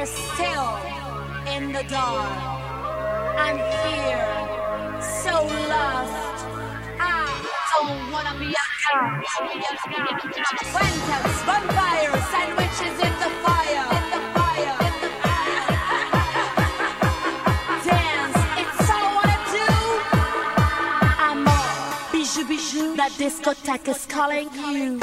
We're still in the dark. I'm here, so lost. I don't wanna be a cat. Phantoms, vampires, sandwiches in the fire. Dance, it's all I wanna do. I'm all bijou, bijou. That discotheque is calling you.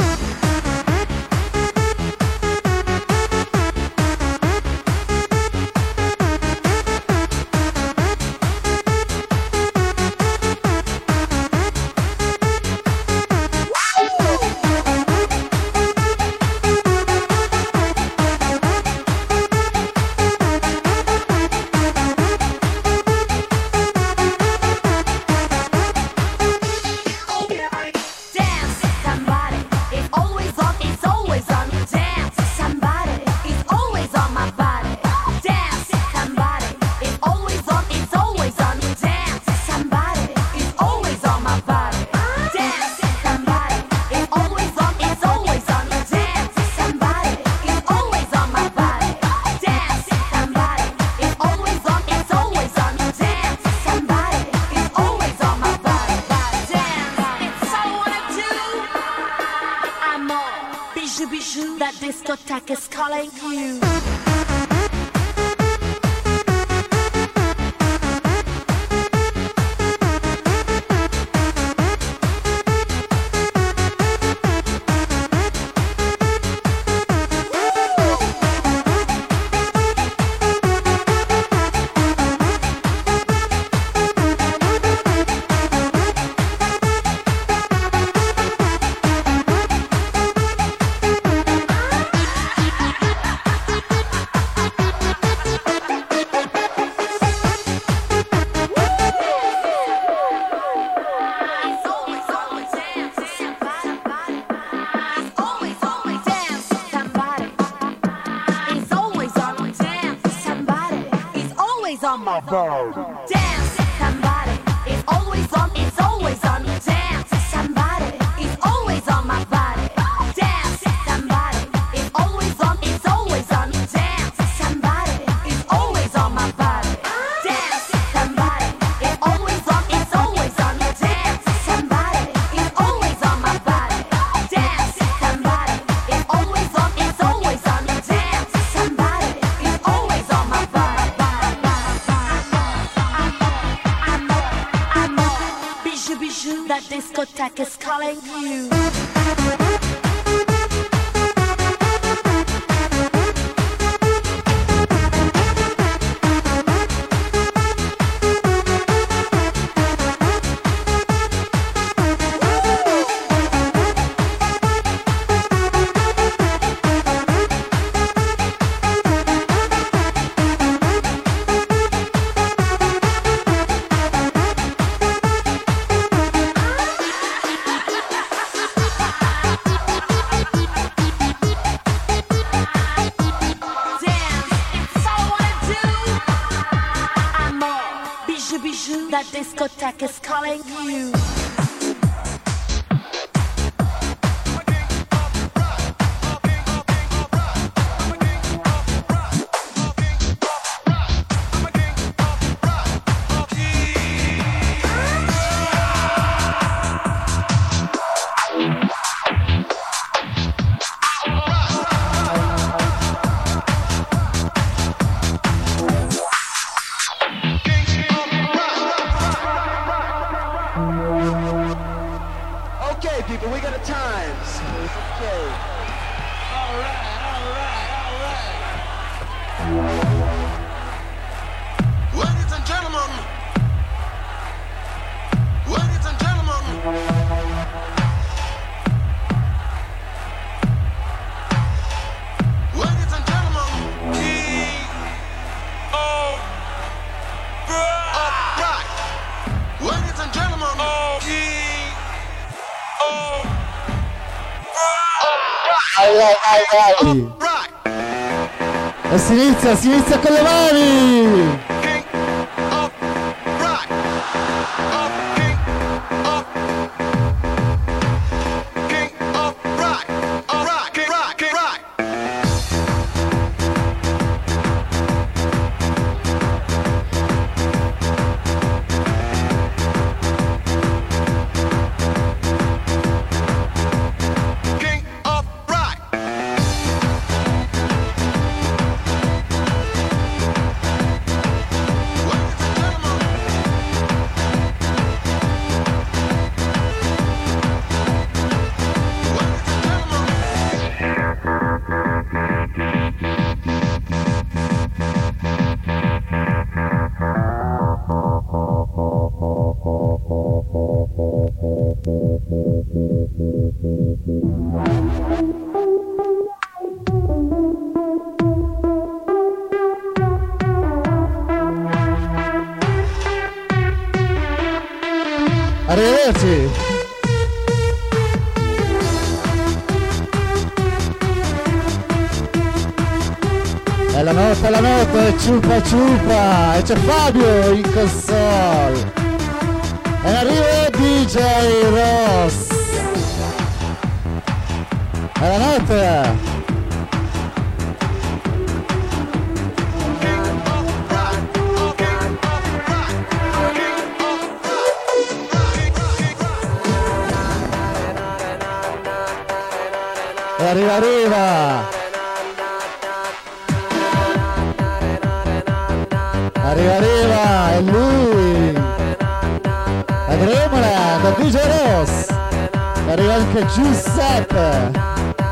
Discotheque is calling you. On my phone. Dance, somebody is always on. It's always on. Dance, somebody is always on my body. Dance, somebody is always on. It's always on. Dance, somebody is always on my body. Dance, somebody is always on. It's always on. Dance, somebody is always on my body. Dance, somebody is always on. It's always on. Dance, somebody is always on my body. That discotheque is calling you. That discotheque is calling you. E si inizia con le mani! Arrivederci. È la notte, ciupa ciupa, e c'è Fabio in console. E in arrivo DJ Ross. È la notte. Arriva, è lui, la Dreamland, da DJ Ross, arriva anche Giuseppe.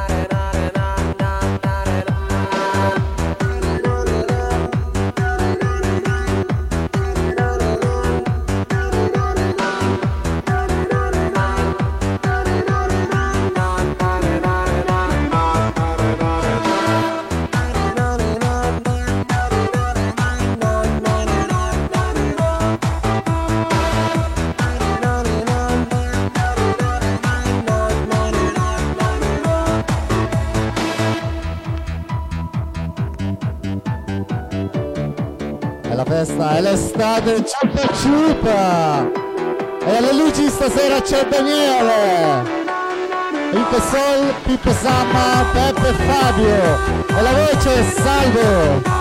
È l'estate, ciupa ciupa, e alle luci stasera c'è Daniele, il Sol, Pippo Samma, Peppe e Fabio, e la voce è Salvo.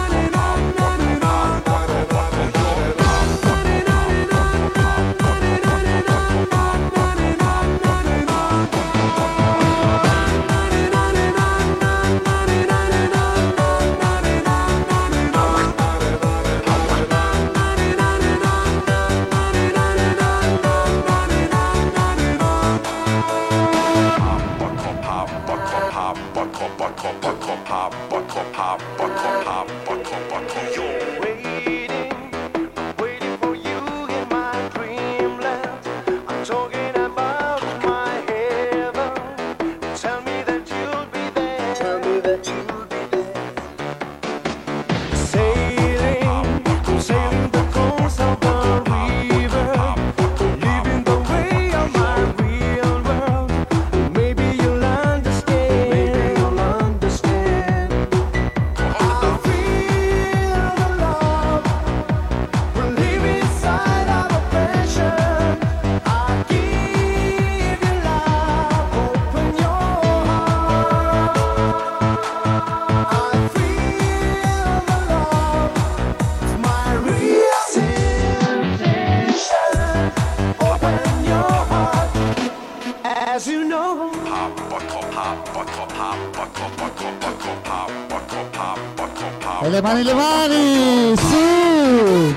E le mani, su!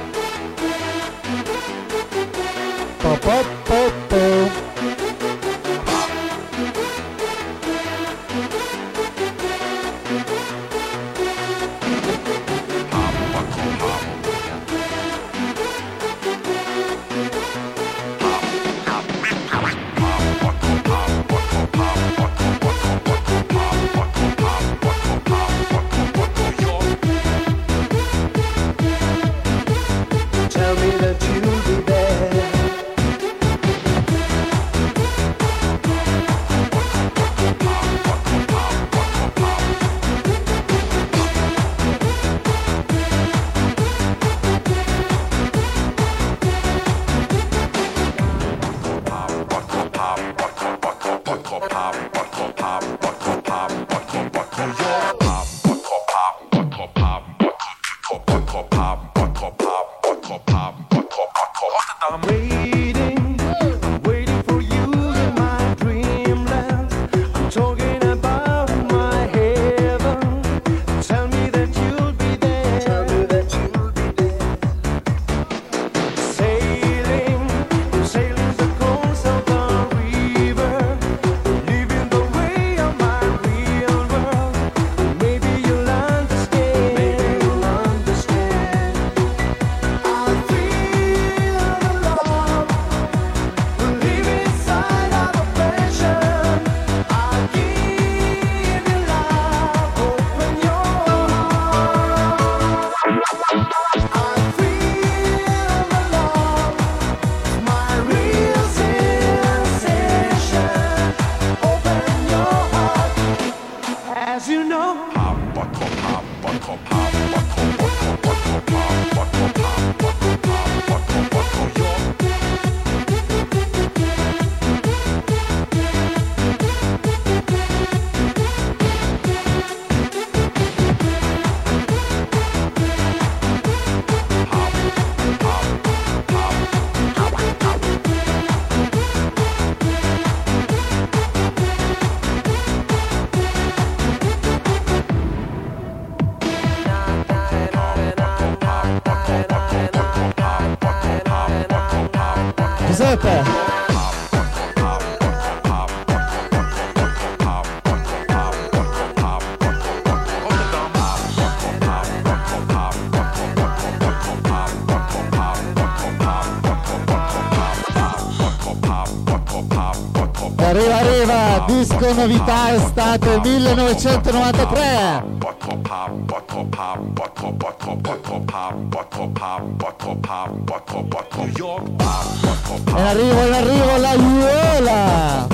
Po, po, po, po. Giuseppe. Arriva, disco novità estate 1993. In arrivo la Aiuola.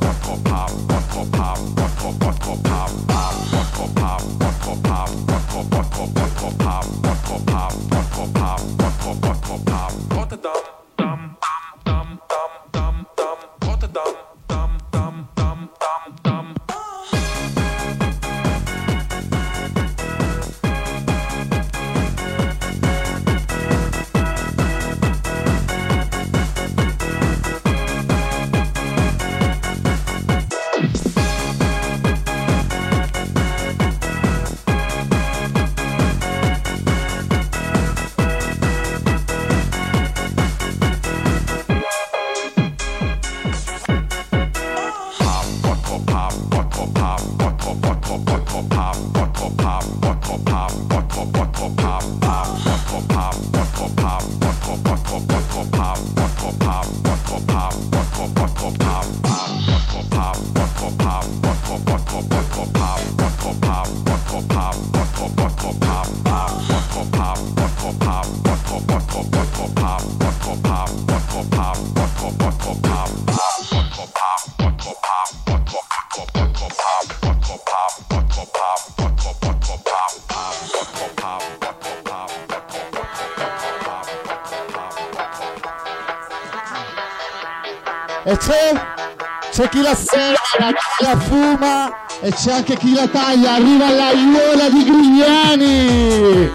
E c'è chi la serra, chi la fuma e c'è anche chi la taglia. Arriva la Aiuola di Grignani.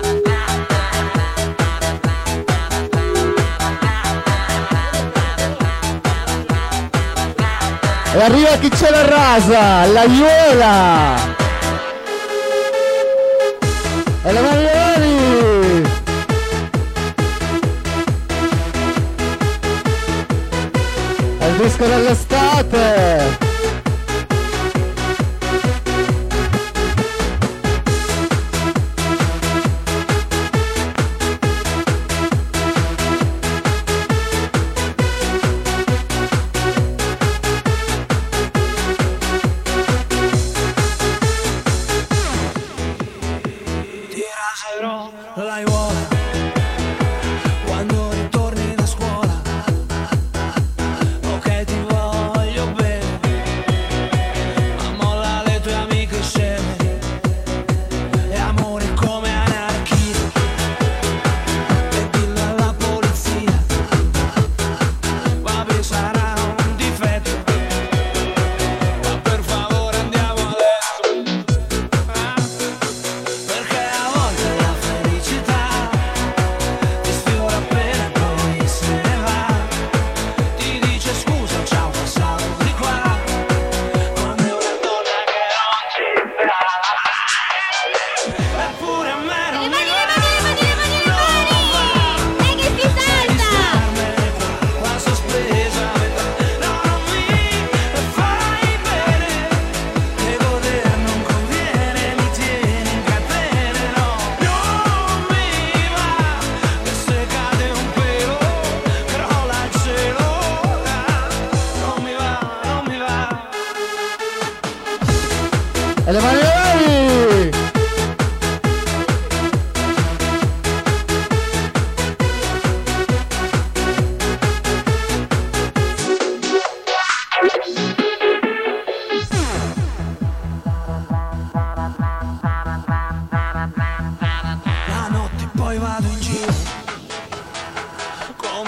E arriva chi ce la rasa, la Aiuola. E la Marioni. È il disco dell'estate. Perché a volte la felicità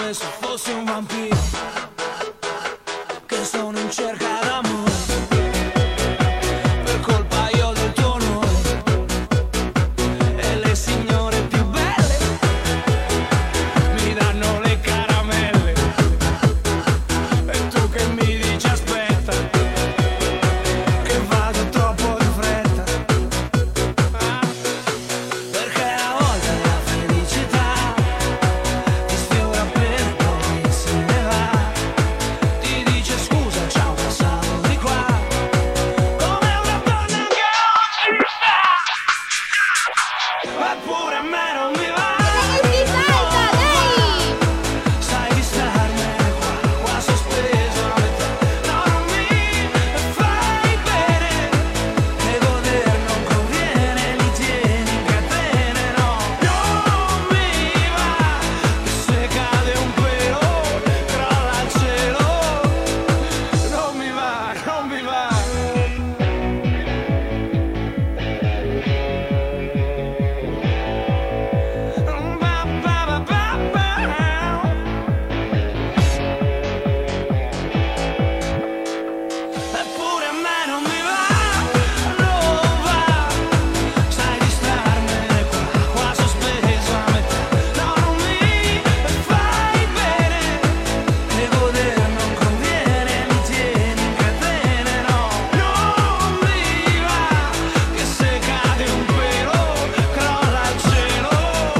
come se fossi un vampiro che sono in cerca d'amore. Per colpa io del tuo onore e le signore più belle mi danno le caramelle. E tu che mi dici aspetta, che vado troppo di fretta. Perché a volte la felicità ti sfiora per poi se ne va. Ti dice scusa, ciao, passavo di qua, come una donna che oggi sta. Eppure a me non mi va. Sai di starmene qua sospeso a metà. No, non mi fai bene, e goder non conviene, mi tieni in catene, no. Non mi va, che se cade un pelo crolla il cielo. Non mi va, non mi va. Eppure a me non mi va, non va. Sai di starmene qua sospeso a metà. No, non mi fai bene, e goder non conviene, mi tieni in catene, no. Non mi va, che se cade un pelo crolla il cielo.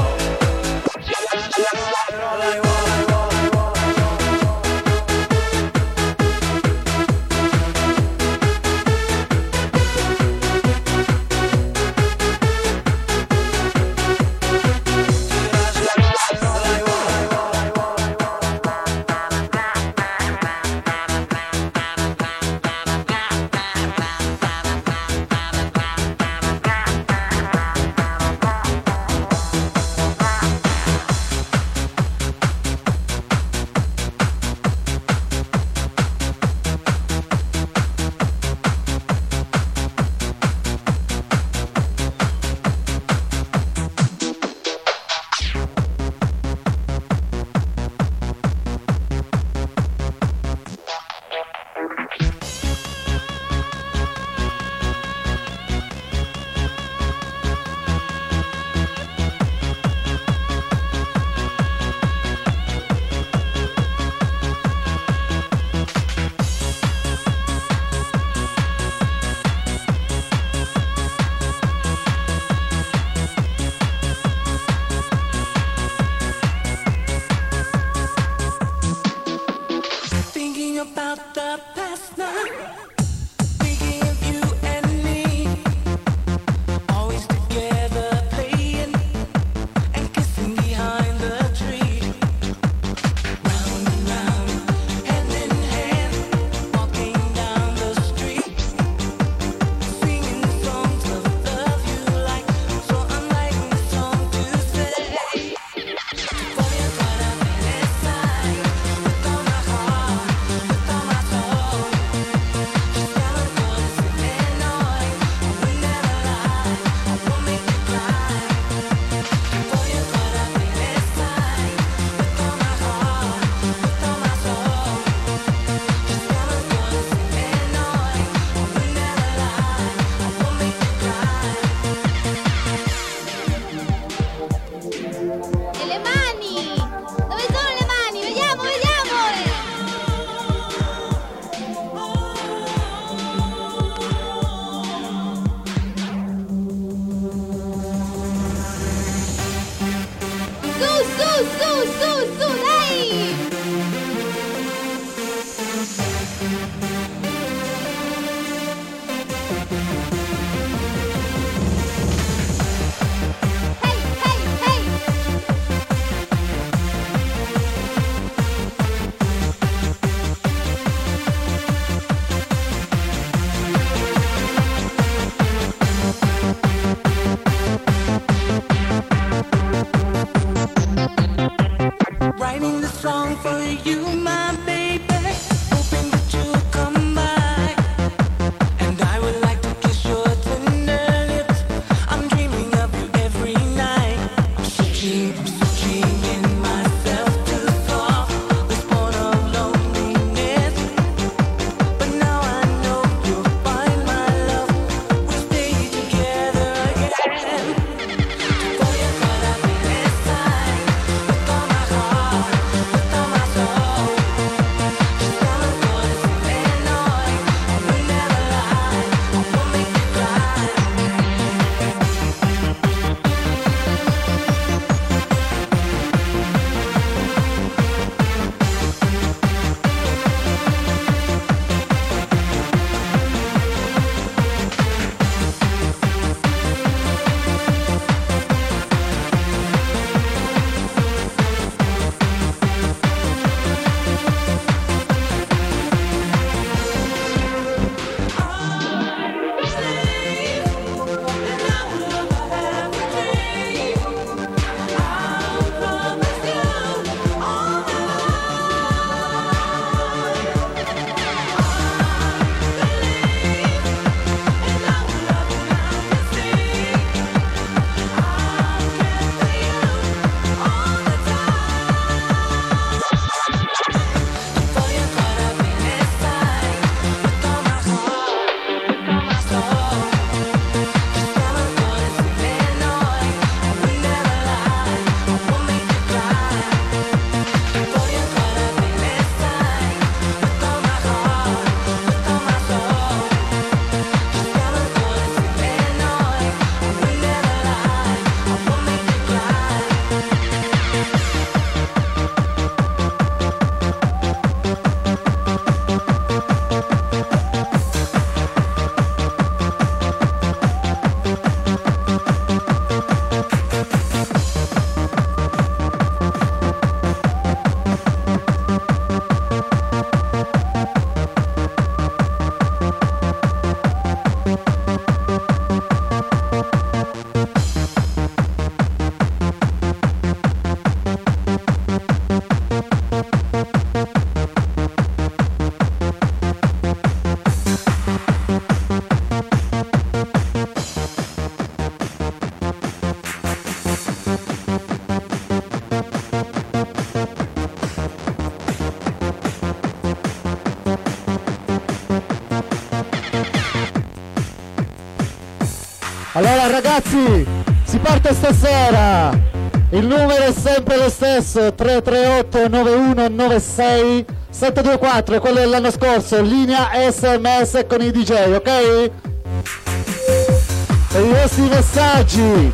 Thinking about the past night, thinking of you and me, always together playing and kissing behind the tree. Round and round, hand in hand, walking down the street, singing songs of love you like, so unlike the song to say. Voy a para pensar with all my heart, with all my soul. Just never gonna say no, I will never lie, I won't make you cry. Voy a para pensar with all my heart, with all my soul. Just never gonna say no, I will never lie, I won't make you cry. E le mani? Dove sono le mani? Vediamo, vediamo! Su, su, su, su, su, dai! Hey, hey, hey! Writing this song for you, my baby, hoping that you'll come by. And I would like to kiss your tender lips. I'm dreaming of you every night. I'm searching in myself to fall. Allora ragazzi, si parte stasera, il numero è sempre lo stesso, 338 9196 724, è quello dell'anno scorso, linea SMS con i DJ, ok? Per i vostri messaggi.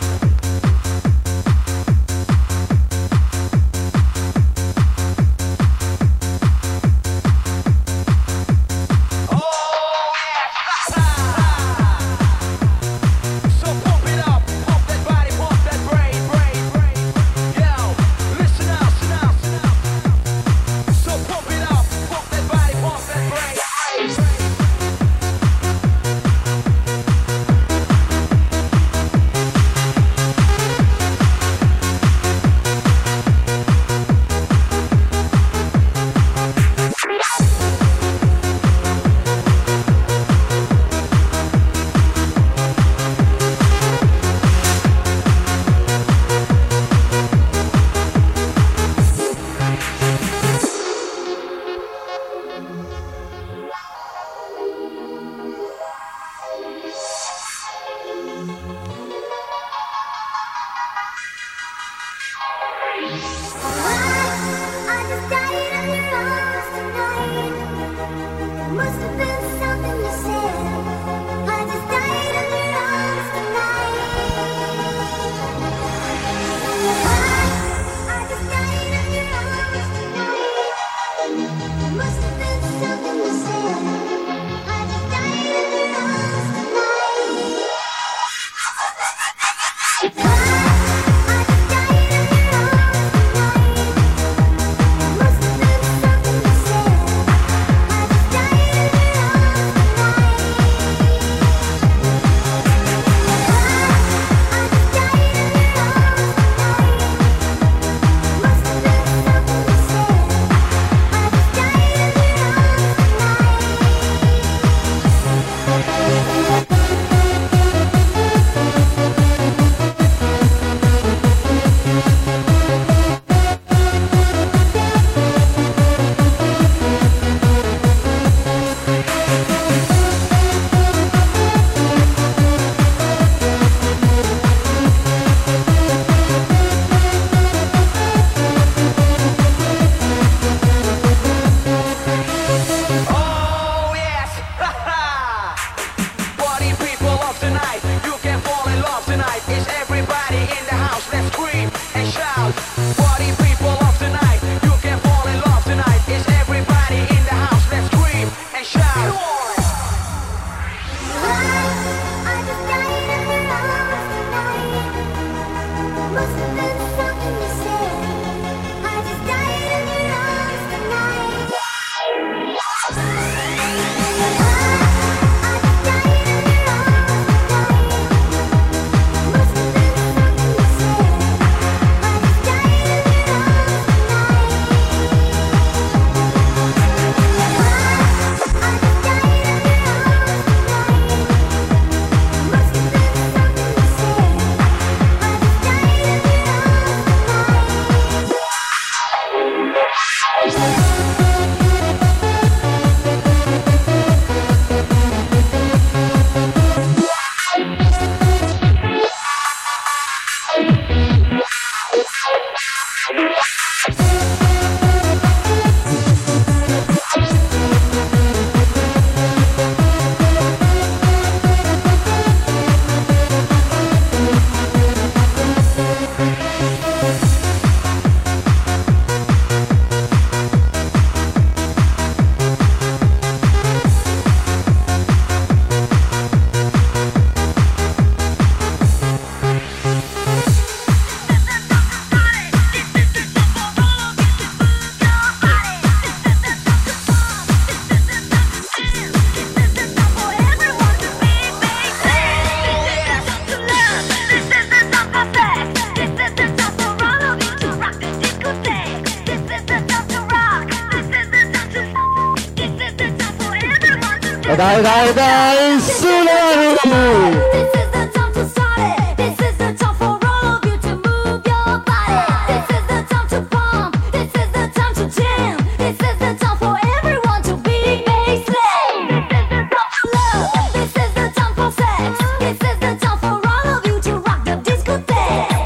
Dai, sulle mani! This is the time to start it. This is the time for all of you to move your body. This is the time to pump. This is the time to jam. This is the time for everyone to be baseline. This is the time for love. This is the time for sex. This is the time for all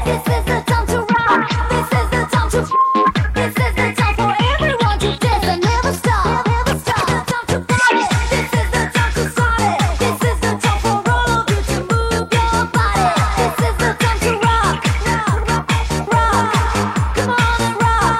This is the time to rock. This is the time to. This is the time for everyone to dance and never stop. Never stop. The time to party. This is the time to start it. This is the time for all of you to move your body. This is the time to rock. Rock, rock. Come on and rock.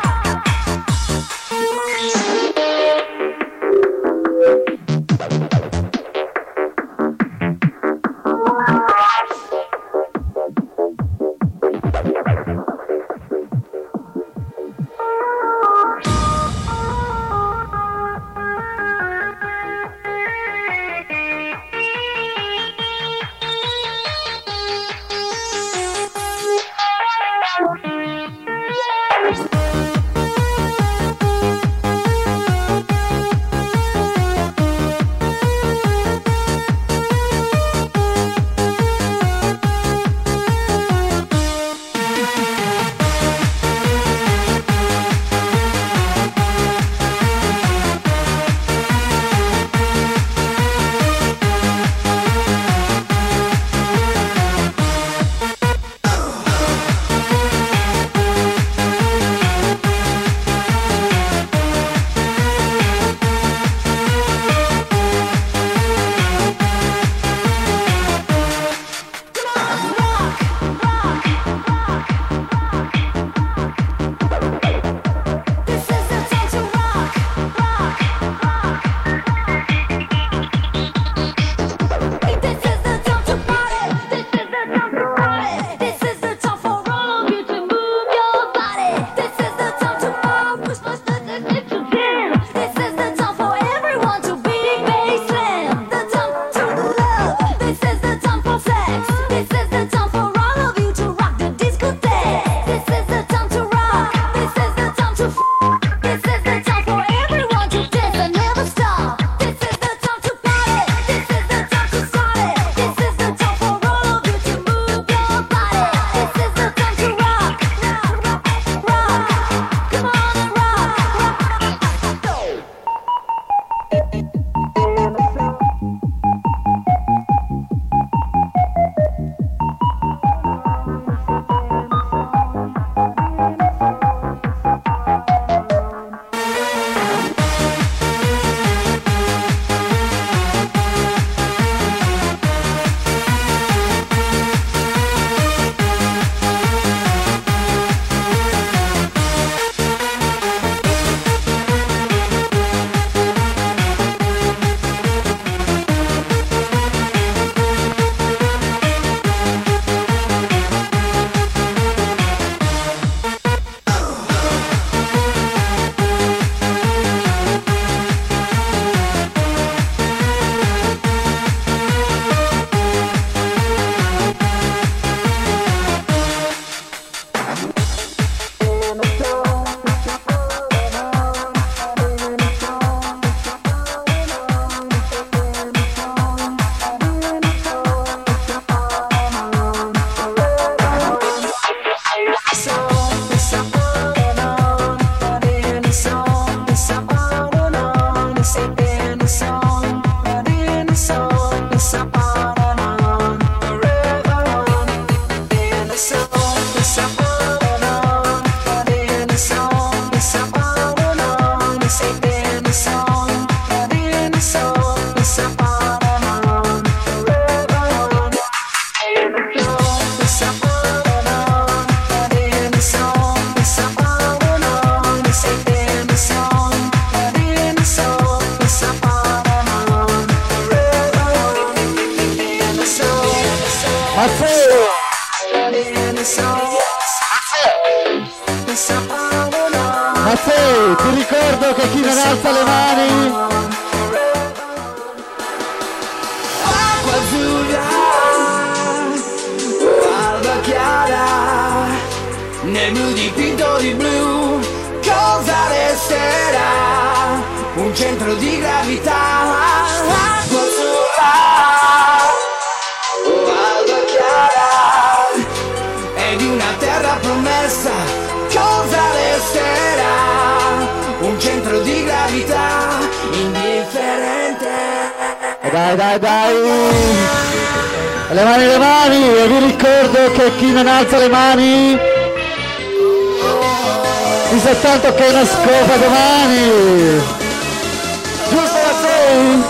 Matteo, ti ricordo che chi non alza le mani acqua azzurra, alba chiara, nel blu dipinto di blu, cosa resterà? Un centro di gravità, acqua azzurra, alba chiara, ed una terra promessa, cosa resterà? Un centro di gravità indifferente. Dai, dai, dai. le mani, e vi ricordo che chi non alza le mani mi sa tanto che è una scopa domani. Giusto la sei?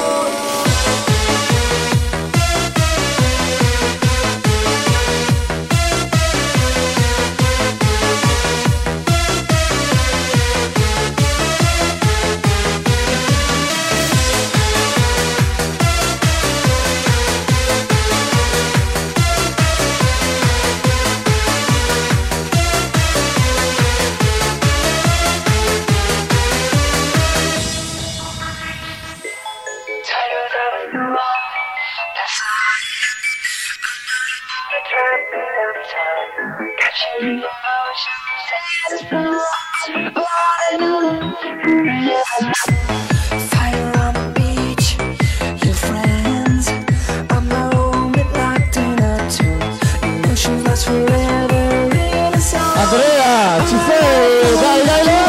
Andrea, ci sei? Dai, dai, dai!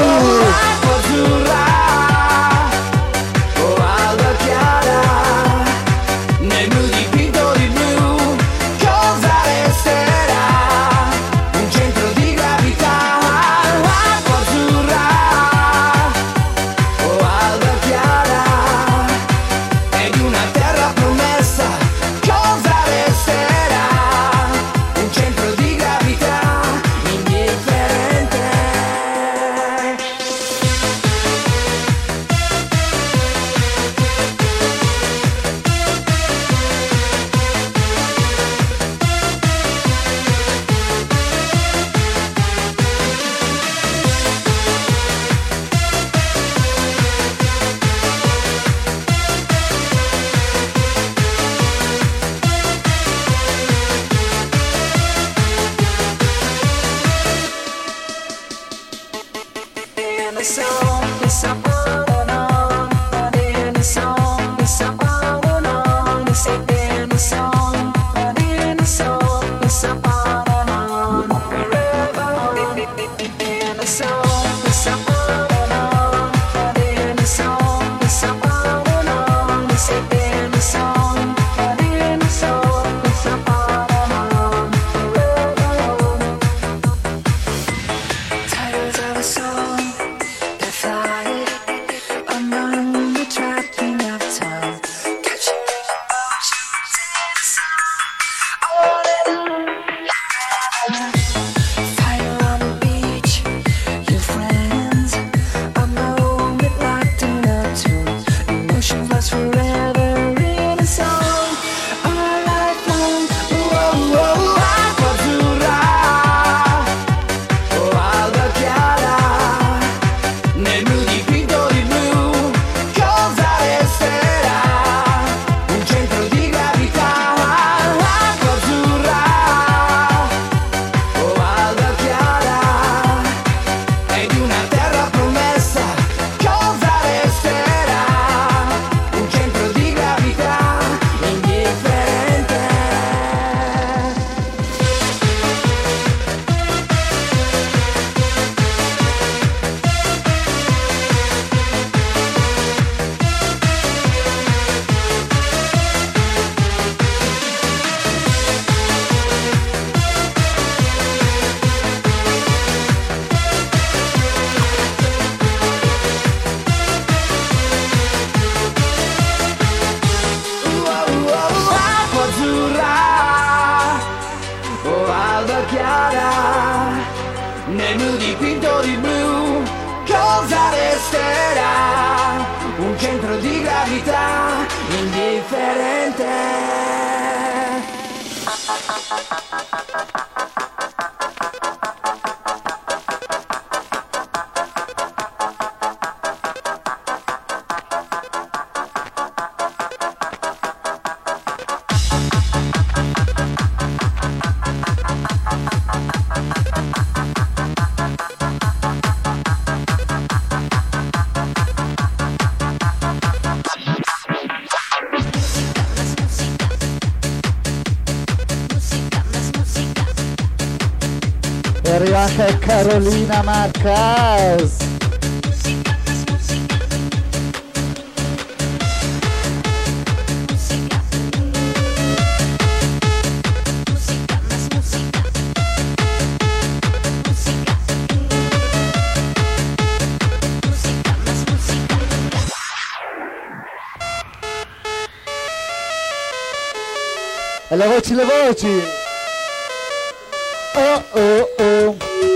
E arriva anche Carolina Marcas. le voci, le voci. Oh oh oh.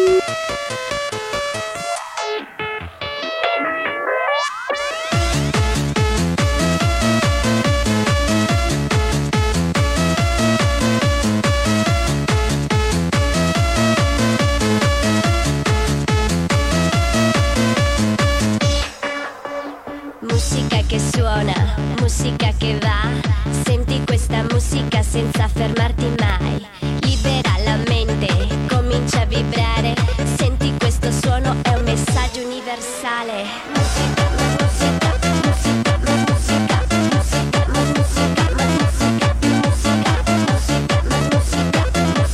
Musica che suona, musica che va. Senti questa musica senza fermarti mai. Libera la mente, comincia a vibrare. Senti questo suono, è un messaggio universale. Musica, musica, musica, musica, musica, musica, musica, musica, musica,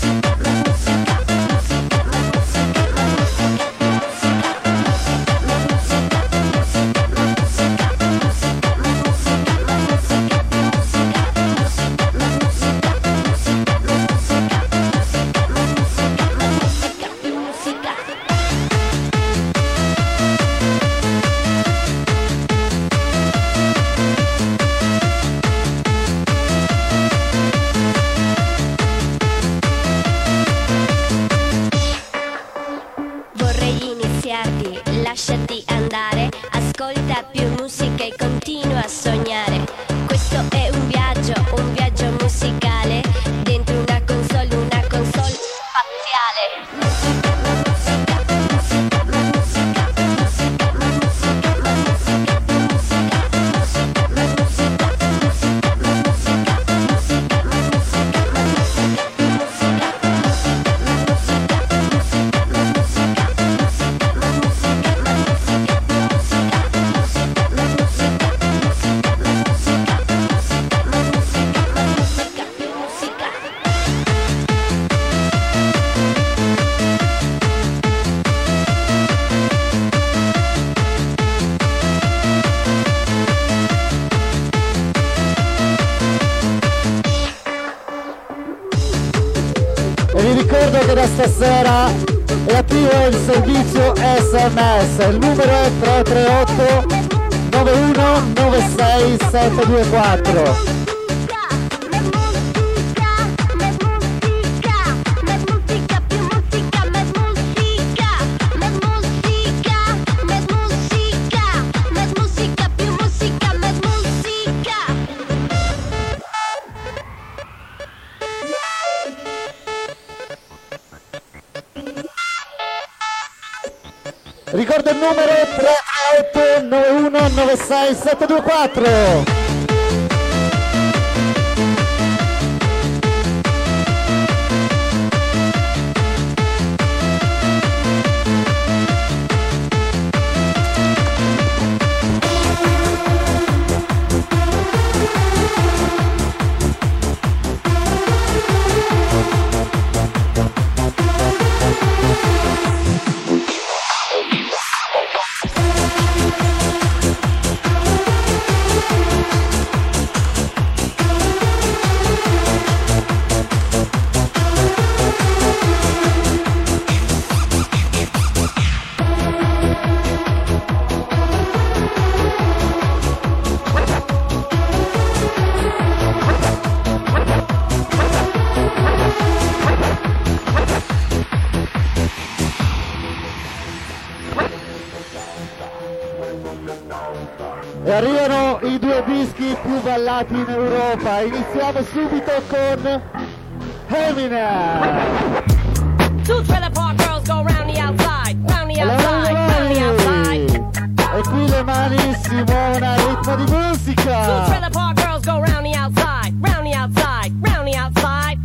vorrei iniziarti, lasciati andare. Ascolta più musica e continua a sognare. Questo è un viaggio musicale. Dentro una console spaziale. Musica, musica, musica, musica, musica, musica, musica, musica, musica, E vi ricordo che da stasera è attivo il servizio SMS, il numero è 338 9196 724. Ricordo il numero 338 9196 724. E arrivano i due dischi più ballati in Europa. Iniziamo subito con Eminem. Two trailer park girls go round the outside, round the outside, round the outside. E qui le mani si muovono a ritmo di Two musica. trailer park girls go round the outside, round the outside, round the outside.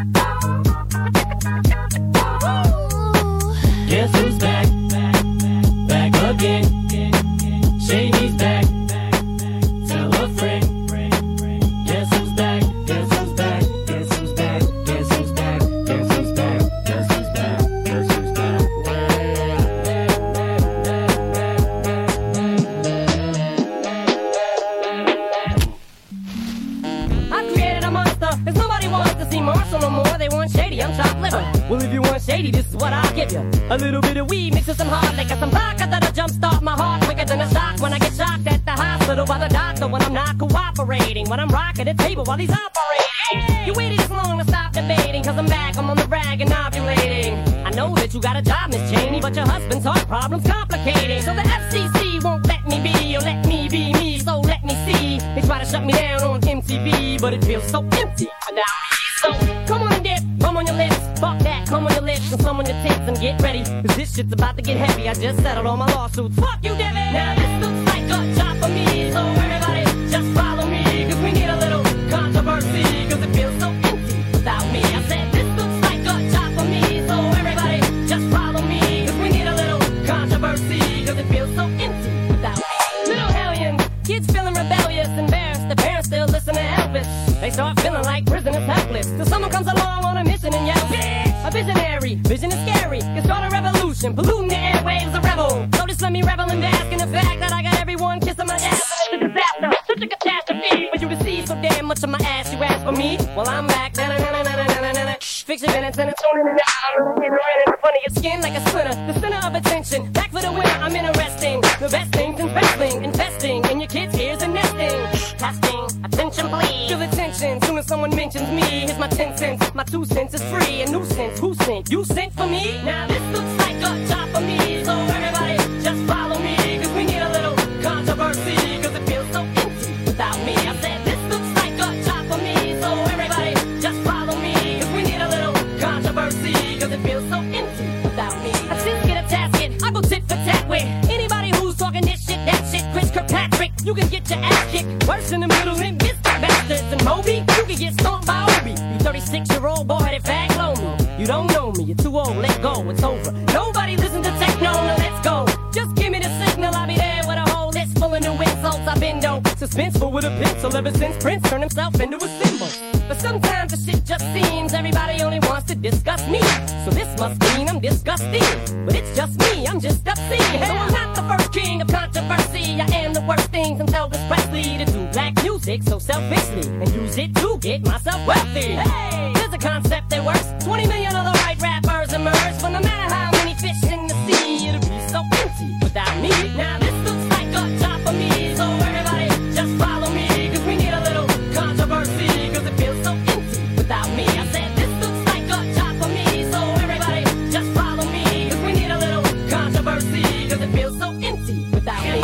Guess who's back? Back again. Shady's back. Tell a friend. Guess who's back? Guess who's back? Guess who's back? Guess who's back? Guess who's back? Guess who's back? Guess who's back? I created a monster, 'cause nobody wants to see Marshall no more. They want Shady, I'm chopped liver. Well, if you want Shady, lady, this is what I'll give you. A little bit of weed mixed with some hard liquor, some vodka that'll jumpstart my heart quicker than a shock when I get shocked at the hospital by the doctor when I'm not cooperating, when I'm rocking the table while he's operating. You waited this long to stop debating, cause I'm back, I'm on the rag and ovulating. I know that you got a job, Miss Cheney, but your husband's heart problem's complicating. So the FCC won't let me be, or let me be me, so let me see. They try to shut me down on MTV, but it feels so empty without me. So come on and dip, come on your lips, fuck that, come on your lips and some on your tits and get ready, cause this shit's about to get heavy. I just settled all my lawsuits, fuck you, Devin. Now this looks like a job for me, so everybody just follow me, cause we need a little controversy, cause it feels so empty without me. I said this looks like a job for me, so everybody just follow me, cause we need a little controversy, cause it feels so empty without me. Little hellions, kids feeling rebellious, embarrassed, the parents still listen to Elvis. They start feeling like prisoners helpless, till someone comes along on a mission and yells, yeah! A visionary, vision is scary, can start a revolution, polluting the airwaves, a rebel. So just let me revel and bask in the fact that I got everyone kissing my ass. It's a disaster, such a catastrophe, for you to see so damn much of my ass, you ask for me? Well, I'm back, fix your minutes and it's on in and out. In front of your skin like a splinter, the center of attention. Back for the winner, I'm interesting. The best things in wrestling, investing in your kids' ears and nesting. Testing, attention please. Feel attention, soon as someone mentions me. Here's my 10 cents, my 2 cents is free. A nuisance, who sent? You sent for me? Now this looks like a job for me, so everybody just follow me, cause we need a little controversy, cause it feels so empty without me. I said this looks like a job for me, so everybody just follow me, cause we need a little controversy, cause it feels so empty without me. I just get a tasket, I go tit for tat with anybody who's talking this shit, that shit. Chris Kirkpatrick, you can get your ass kicked worse in the middle than Mr. Bastards. And Moby, you can get stomped by Obi. You 36-year-old boy-headed fag low. You don't know me, you're too old, let go, it's over. Nobody listen to techno, now let's go. Just give me the signal, I'll be there with a whole list full of new insults. I've been though suspenseful with a pencil ever since Prince turned himself into a symbol. But sometimes the shit just seems everybody only wants to discuss me. So this must mean I'm disgusting. But it's just me, I'm just obscene. So I'm not the first king of controversy. I am the worst thing from Elvis Presley to do black music so selfishly and use it to get myself wealthy. Hey, there's a concept that works. 20 million of the right rappers emerge. But no matter how many fish in the sea, it'll be so empty without me. Now this looks like a job for me, so everybody just follow me, cause we need a little controversy, cause it feels so empty without me. I said this looks like a job for me, so everybody just follow me, cause we need a little controversy, cause it feels so empty without me.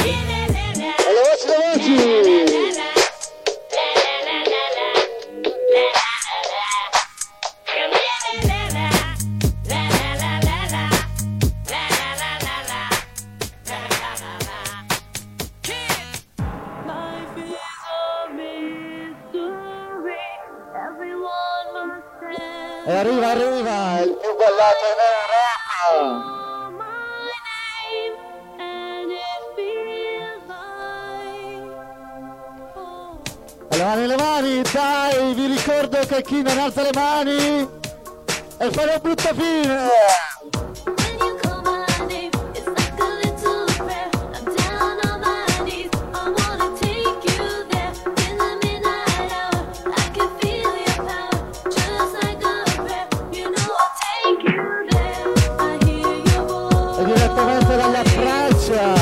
E arriva, il più ballato in Europa. E le mani, dai, vi ricordo che chi non alza le mani e fa una brutta fine. Dalla Francia,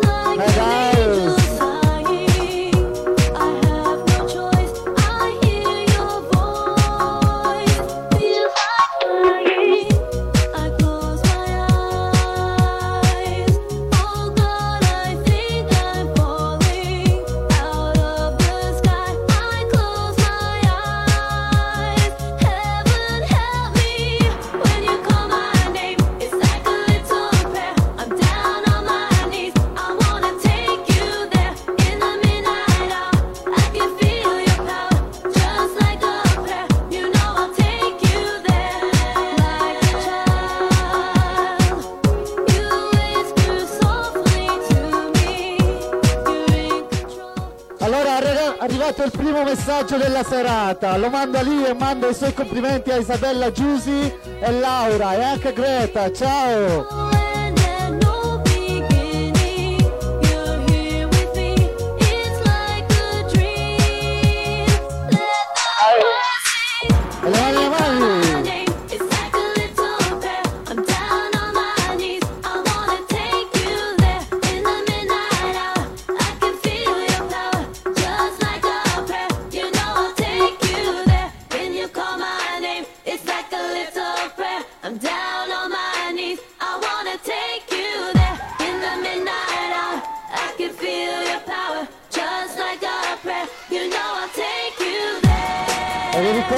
arrivato il primo messaggio della serata, lo manda lì e manda i suoi complimenti a Isabella Giusi e Laura e anche Greta, ciao!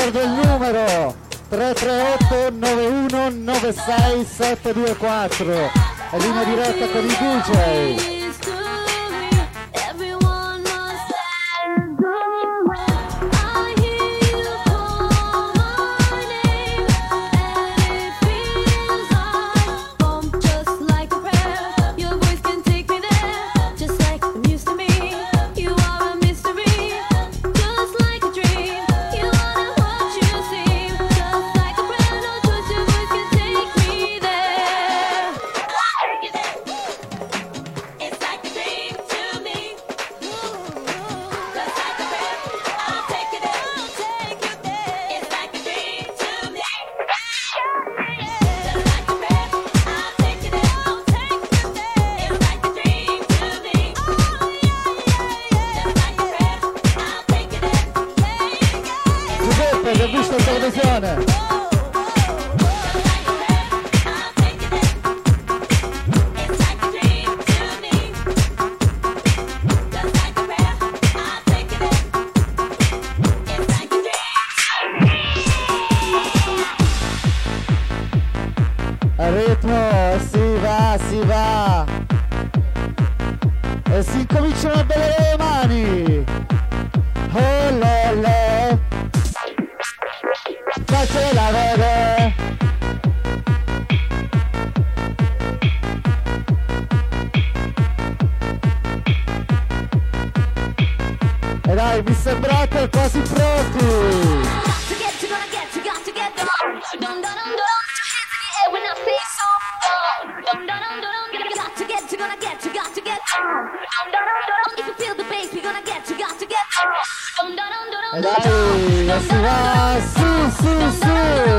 ricordo il numero 338 91 96 724, è linea diretta con i DJ. Al ritmo, si va e si incominciano a bere le mani. Oh lele, facela vedere. E dai, mi sembrate quasi pronti. E dai, si va, su.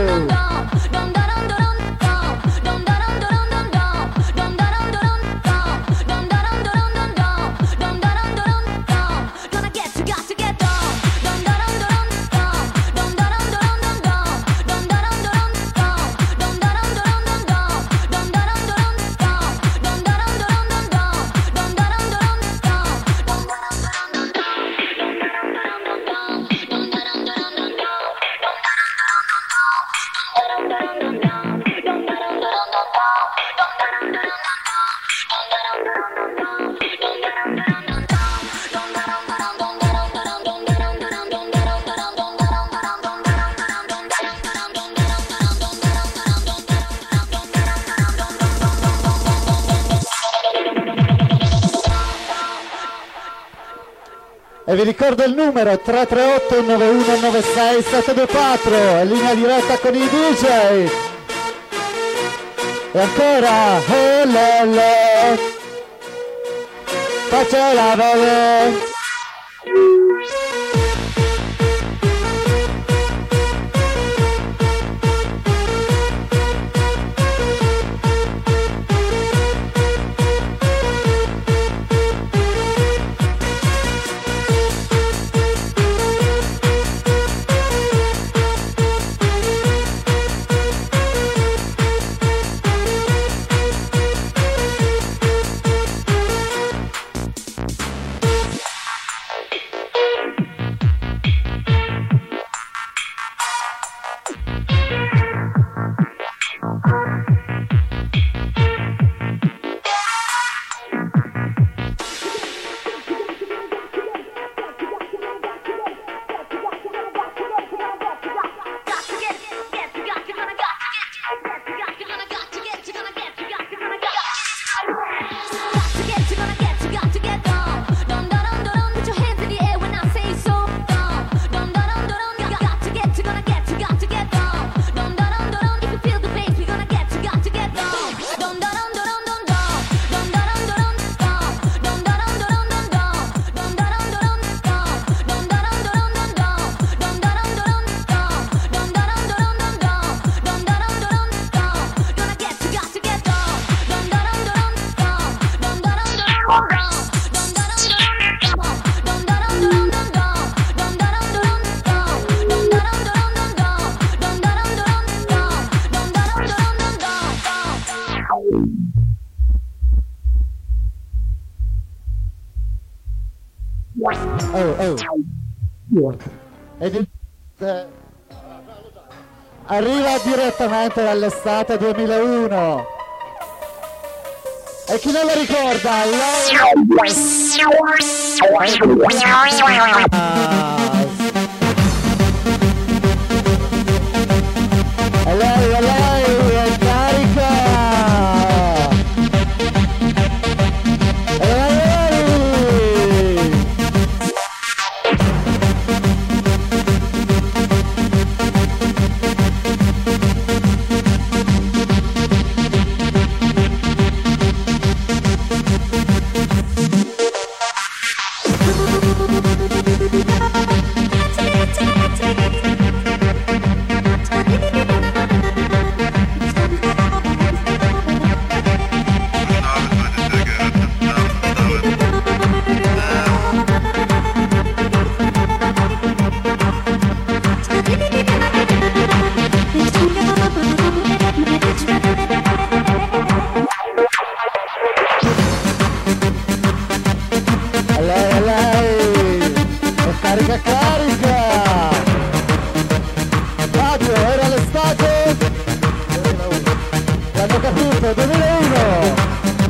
E vi ricordo il numero 338 9196 724, è linea diretta con i DJ. E ancora, oh lele, facela vedere. arriva direttamente dall'estate 2001. E chi non lo ricorda? E lei è carica! E lei! Lei, è carica! Fabio, era l'estate? L'hanno capito, 2001!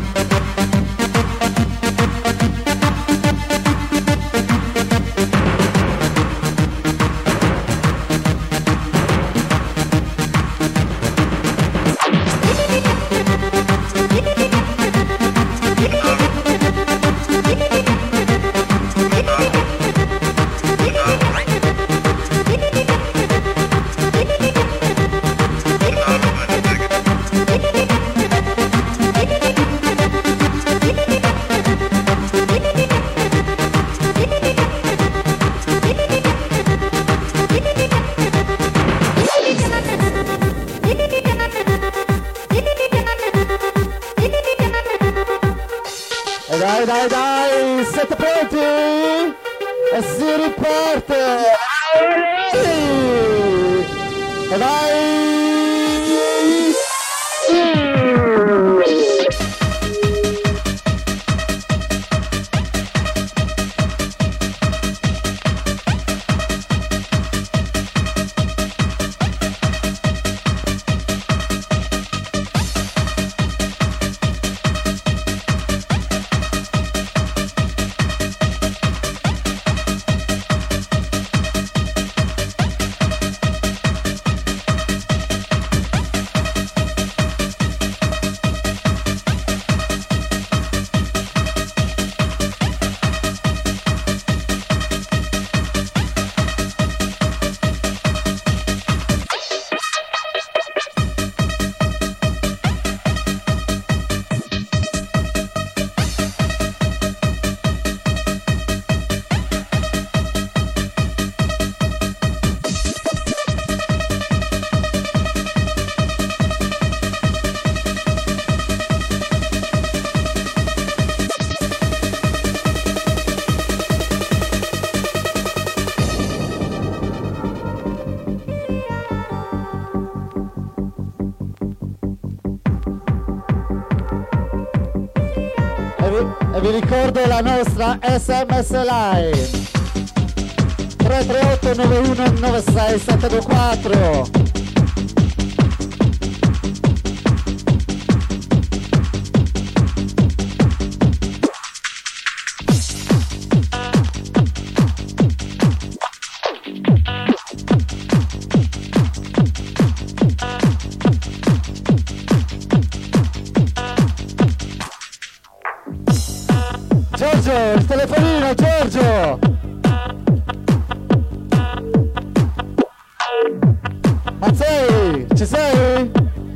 E dai, siete pronti? E si riparte! E vai! E vi ricordo la nostra SMS line 338 91 96 724. Giorgio, il telefonino, Giorgio! Mazzei, ci sei?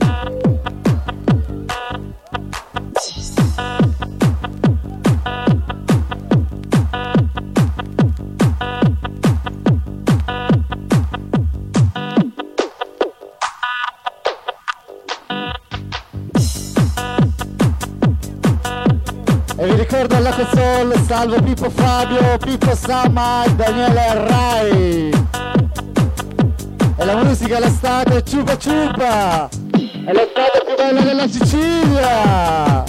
E vi ricordo alla console, salvo Pippo Fabio, Pippo Samma e Daniele Rai. E la musica è l'estate, ciupa ciupa! È l'estate più bella della Sicilia!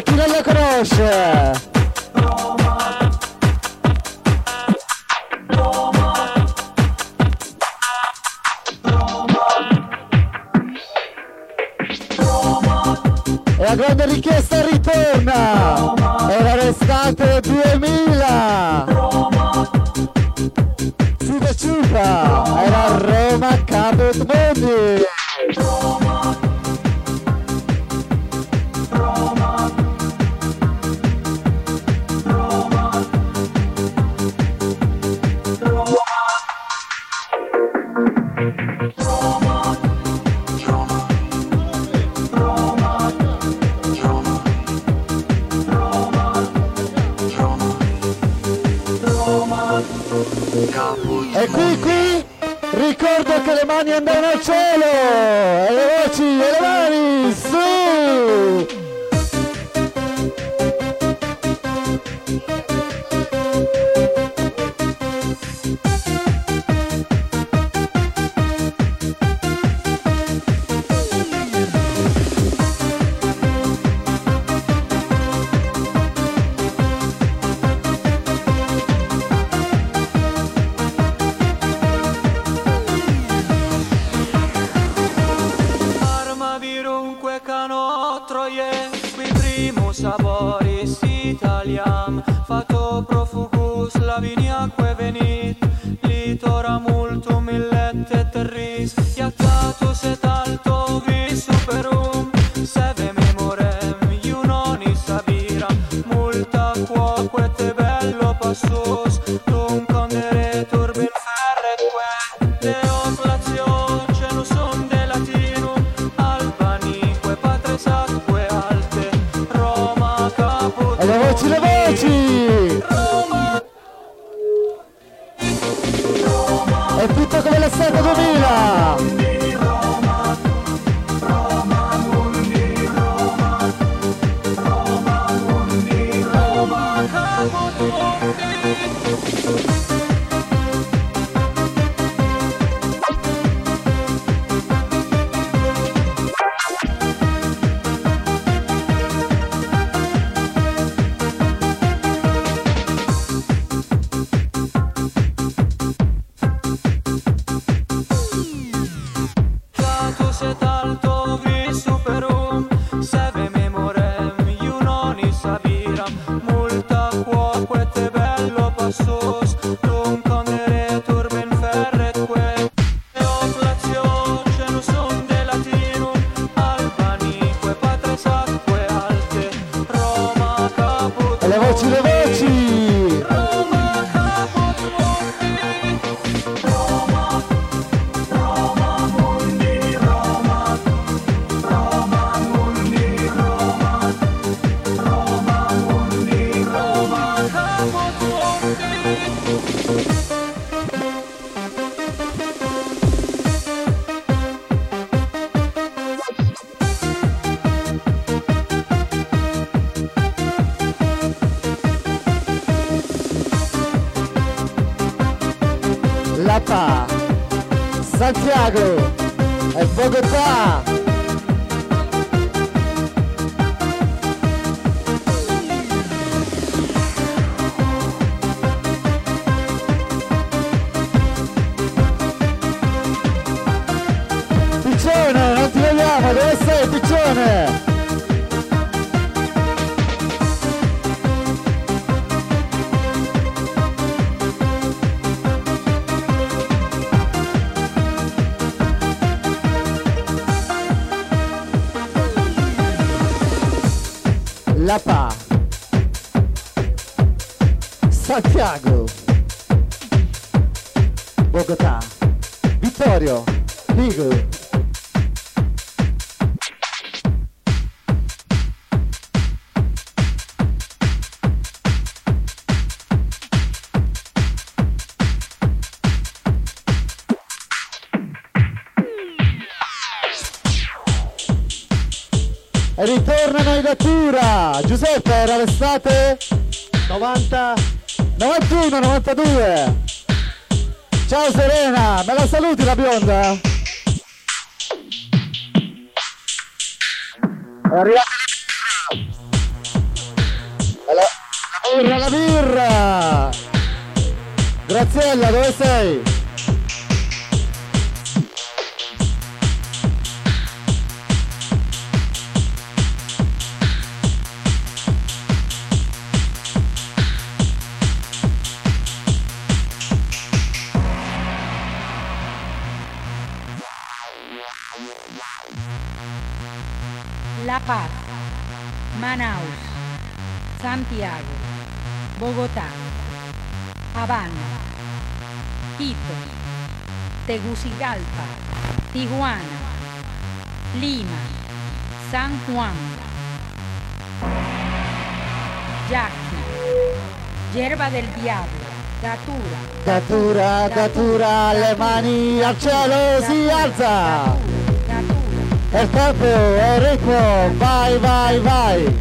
chi non la conosce? E la grande richiesta ritorna! Era l'estate 2000! Super Ciupa! Era Roma Caput Mundi! E qui ricordo che le mani andavano al cielo e le voci e le mani su! Saboris Italiam, fato profugus laviniaque venit, litora multum illette terris, iactatus et alto vis superum, seve memorem, iunonis abiram, multa quoque te bello passus, tum conderetur bin ferretque, deoclatio cenusum de latinum, albanique patres atque alte, e le voci, le voci! È tutto come l'estate 2000! Lapa, Santiago e Bogotà. Piccione, non ti vogliamo, dove sei Piccione? Lapa, Santiago, Bogotà, Vittorio, Vigo. E ritornano in natura. Giuseppe, era l'estate 90, 91, 92. Ciao Serena, me la saluti la bionda? È arrivata la La birra! Graziella, dove sei? La Paz, Manaus, Santiago, Bogotá, Habana, Quito, Tegucigalpa, Tijuana, Lima, San Juan, Yaqui, Yerba del Diablo, Datura, Datura, datura, le mani al cielo si alza! E il tempo è ritmo, vai, vai, vai!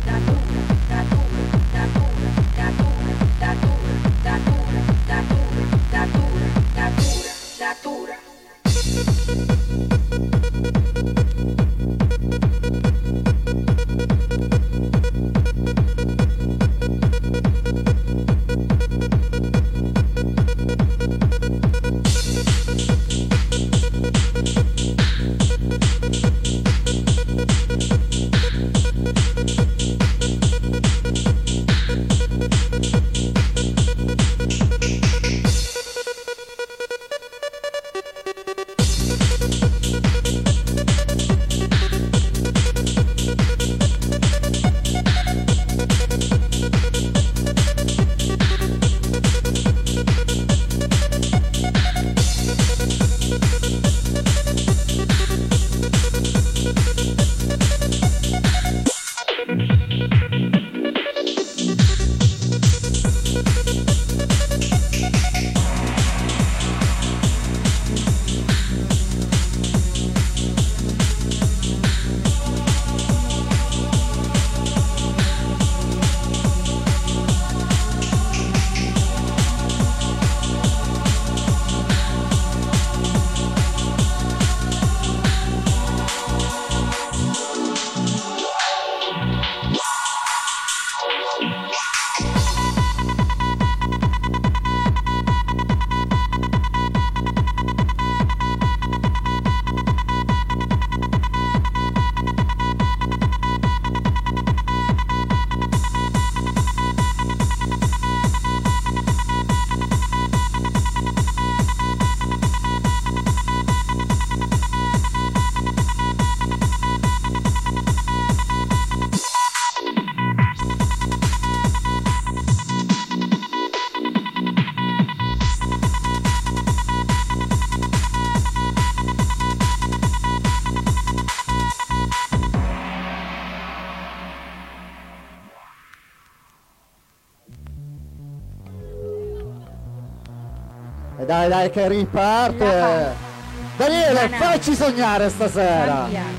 Dai, dai, che riparte! Daniele, facci sognare stasera! Santiago,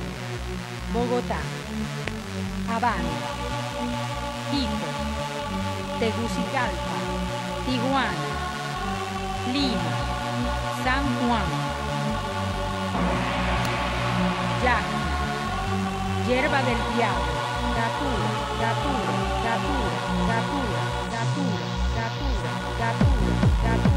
Bogotá, Habana, Quito, Tegucigalpa, Tijuana, Lima, San Juan, Yaqui, Yerba del Diablo, Datura, Datura, Datura, Datura, Datura, Datura, Datura, Datura.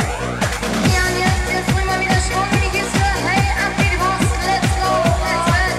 Let's go.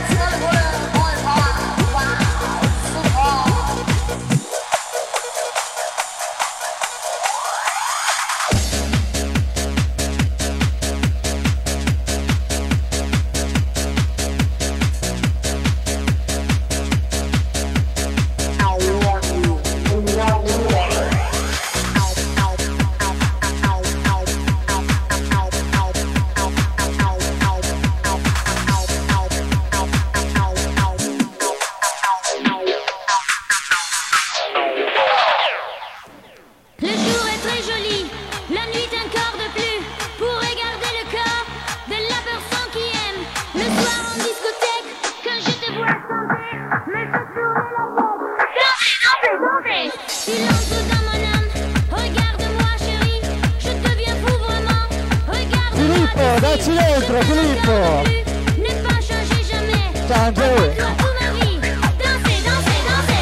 Provaci dentro, Filippo. Ne pas changer jamais. Ciao, Andrea. Toi, toute ma vie. Danser, danser, danser.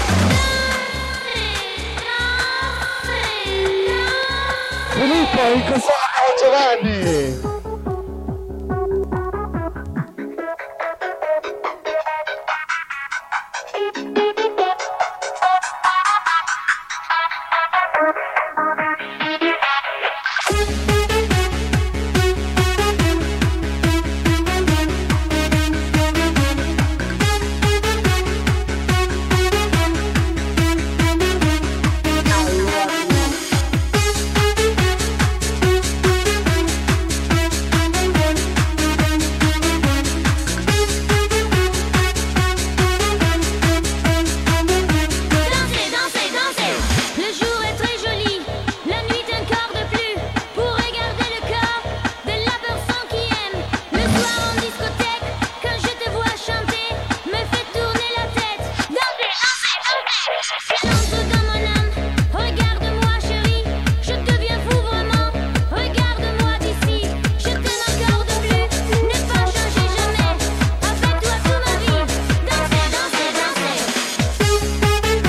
Filippo, in console con Giovanni. Danser, danser, danser. Le jour est très joli, la nuit un quart de plus pour regarder le corps de la personne qui aime. Le soir en discothèque, quand je te vois chanter, me fait tourner la tête. Danser, danser, danser. Entre dans mon âme, regarde-moi chérie, je deviens fou vraiment. Regarde-moi d'ici, je t'aime encore de plus. Ne pas changer jamais, avec toi toute ma vie. Danser, danser, danser.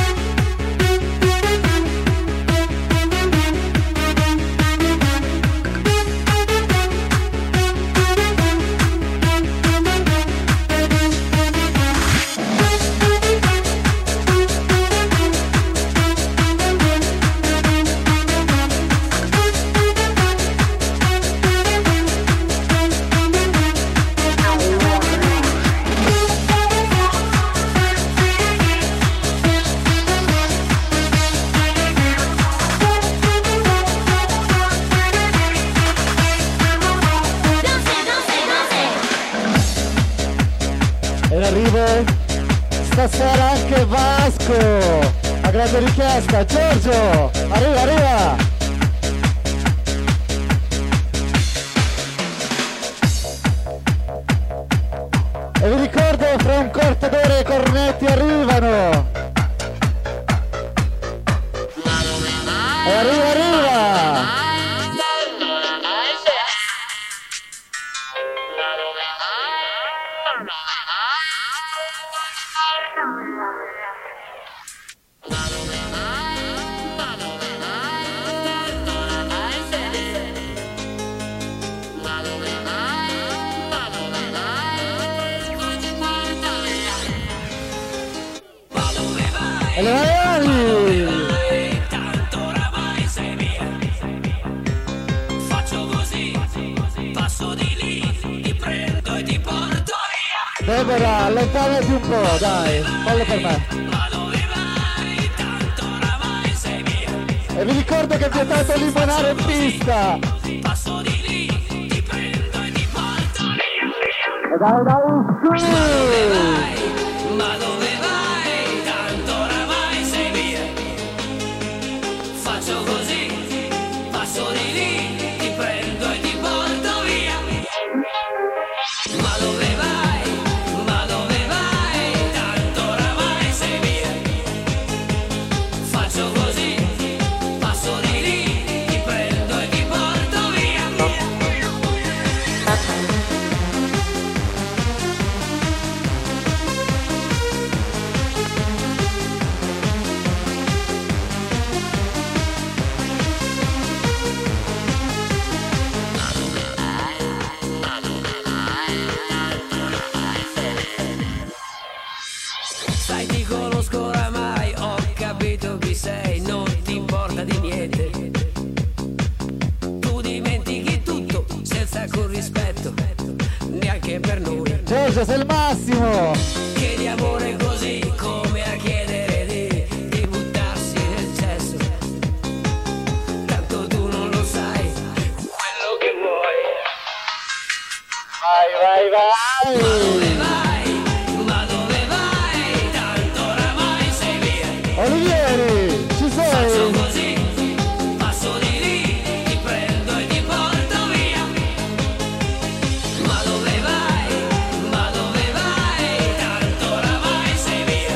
Danser, danser, danser. E in arrivo stasera anche Vasco. A grande richiesta, Giorgio. Arriva, arriva. E vi ricordo, fra un quarto d'ora i cornetti arrivano. E arriva, arriva. E le mani! Tanto oramai sei mia. Faccio così, passo di lì, ti prendo e ti porto via. Deborah, allontanati un po', dai, fallo per me. Ma dove vai? Tanto oramai sei mia. E vi ricordo che è vietato limonare in pista. Passo di lì, ti prendo e ti porto via. E dai, dai, sì! Ma dove vai? Tanto oramai sei mia. Faccio così, passo di lì, ti prendo e ti porto via. Ma dove vai? Ma dove vai? Tanto oramai sei mia. Faccio così, passo di lì, ti prendo e ti porto via. Sai, ti conosco oramai, ho capito chi sei, non ti importa di niente. Tu dimentichi tutto senza alcun rispetto, neanche per noi. Giorgio, sei il massimo! Chiedi amore così come a chiedere di buttarsi nel cesso. Tanto tu non lo sai, quello che vuoi. Vai, vai, vai! Dove vai? Ma dove vai? Tanto oramai sei via. Olivieri, ci Faccio sei? così, passo di lì, ti prendo e ti porto via. Ma dove vai? Ma dove vai? Tanto oramai sei via.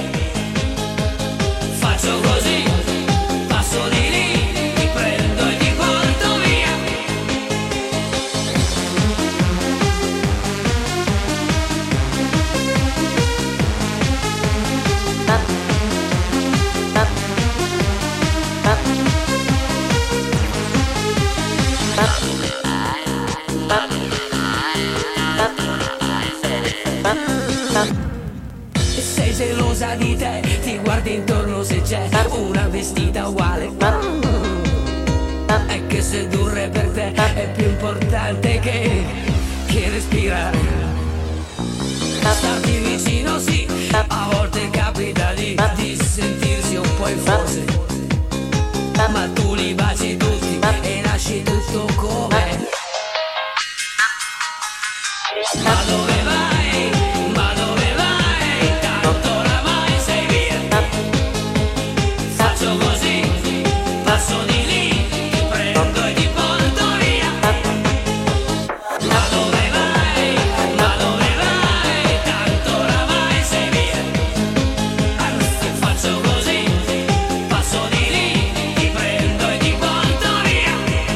Faccio così, passo di lì, ti prendo e ti porto via. qualcosa di te, ti guardi intorno se c'è una vestita uguale. È che sedurre per te è più importante che respirare. Starti vicino sì, a volte capita di sentirsi un po' in forze, ma tu li baci tutti e lasci tutto com'è. Ma dove vai? Ma dove vai? Tanto oramai sei via. Faccio così, passo di lì, ti prendo e ti porto via. Ma dove vai? Ma dove vai? Tanto oramai sei via. Anzi, faccio così, passo di lì, ti prendo e ti porto via.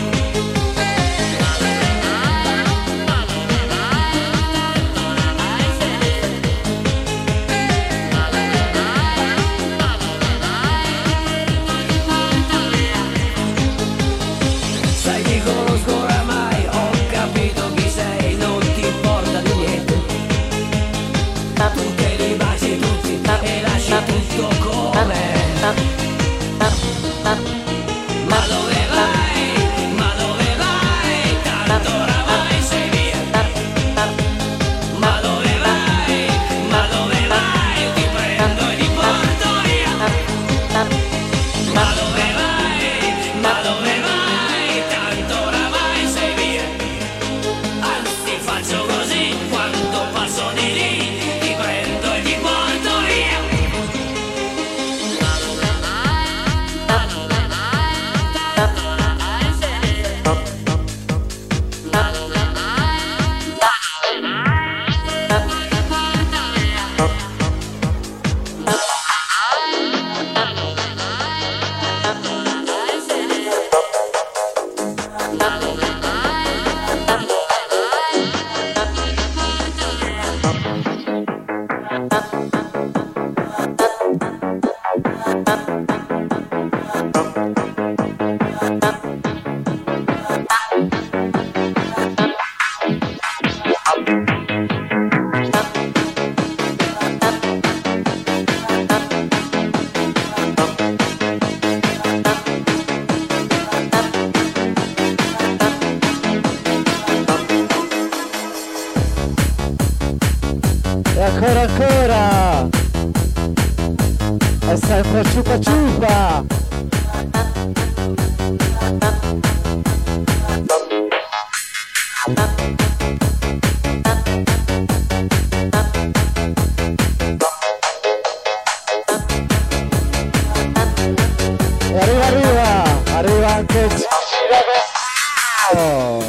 Sai, ti conosco oramai, ho capito chi sei, non ti importa di niente. Tu te li baci tutti e lasci tutto com'è. Ma dove vai? Ma dove vai? Tanto oramai sei via. Ma dove vai? Ma dove vai? Ti prendo e ti porto via. Ma dove vai? Ma dove vai? Tanto oramai sei via. Anzi, faccio così, quando passo di lì, ti prendo e ti porto via. E ancora è sempre ciupa ciupa. E arriva anche Gigi D'Agostino.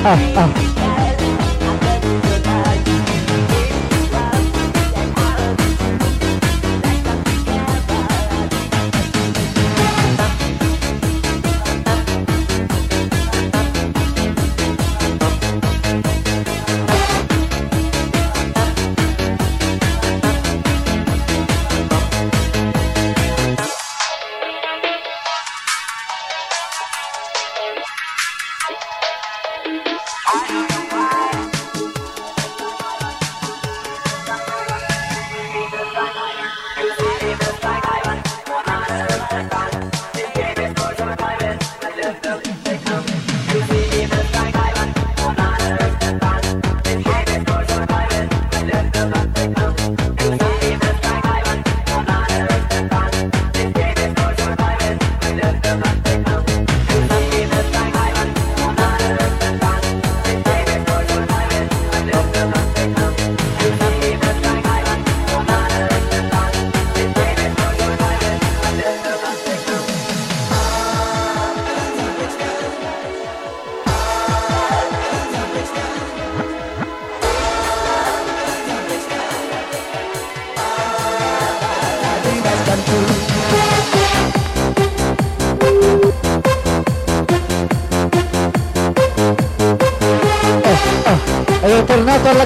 Ed è tornato alla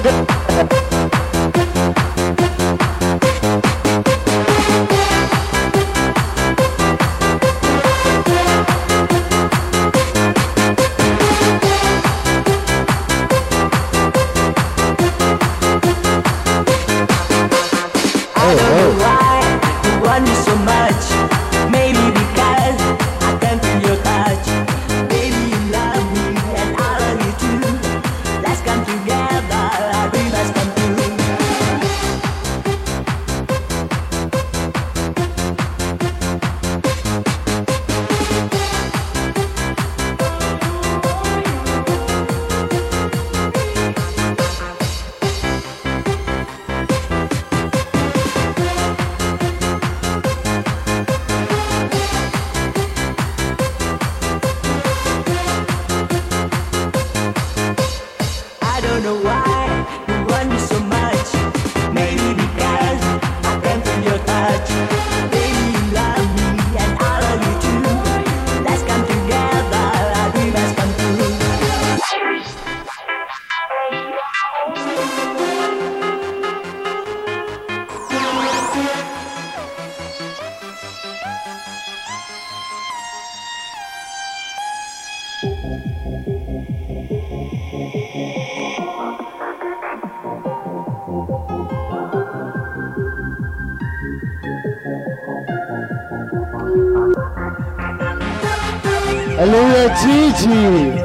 E lui è Gigi.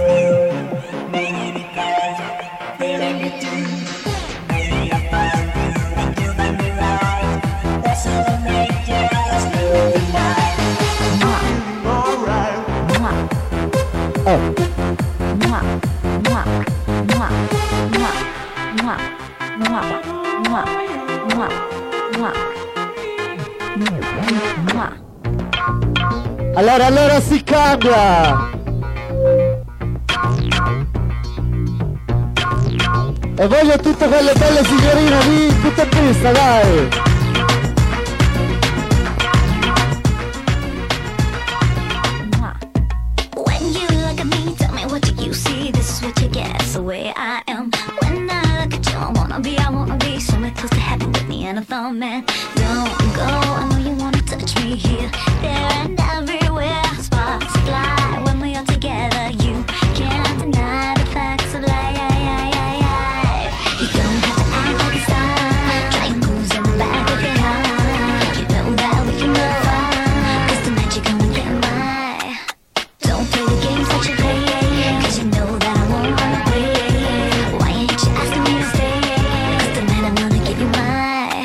Allora si cambia. E voglio tutte quelle belle signorine lì, tutte in pista, dai. When you look at me, tell me what do you see? This is what you get, it's the way I am. When I look at you, I wanna be somewhere close to heaven with me and a thumb, man. Don't go, I know you wanna touch me here, there and everywhere. Sparks fly when we are together. You can't deny the facts of life. You don't have to act like it's not. Try and moves in the back of your heart. You know that we can have fun, 'cause tonight you're gonna get my. Don't play the games that you play, 'cause you know that I won't run away. Why ain't you asking me to stay? 'Cause tonight I'm gonna give you my.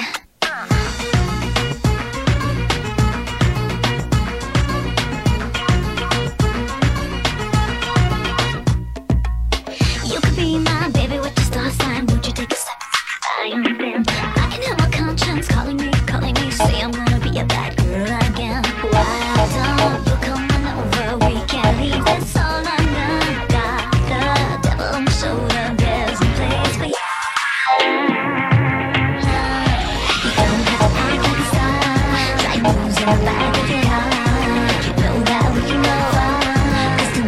You could be my baby with your star sign. Won't you take a step? I am them. I can hear my conscience calling me, say I'm gonna be a bad girl again. Why don't you come on over? We can't leave this all undone. Got the devil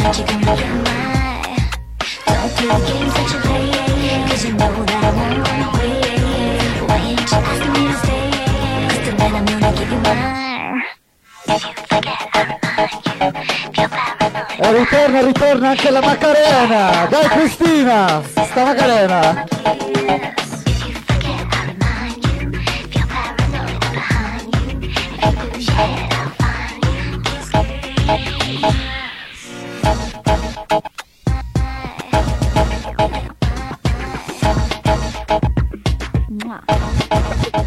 that you're gonna get mine. Don't play the games that you play, cause you know that I won't run away. Why ain't you asking me to stay? Cause tonight I'm gonna give you mine. If you forget, I remind you. Feel paranoid. E ritorna anche la Macarena. Dai Cristina, sta Macarena. If you forget, I remind you. Feel paranoid, I'm behind you. If you lose your head, I'll find you. Mwah.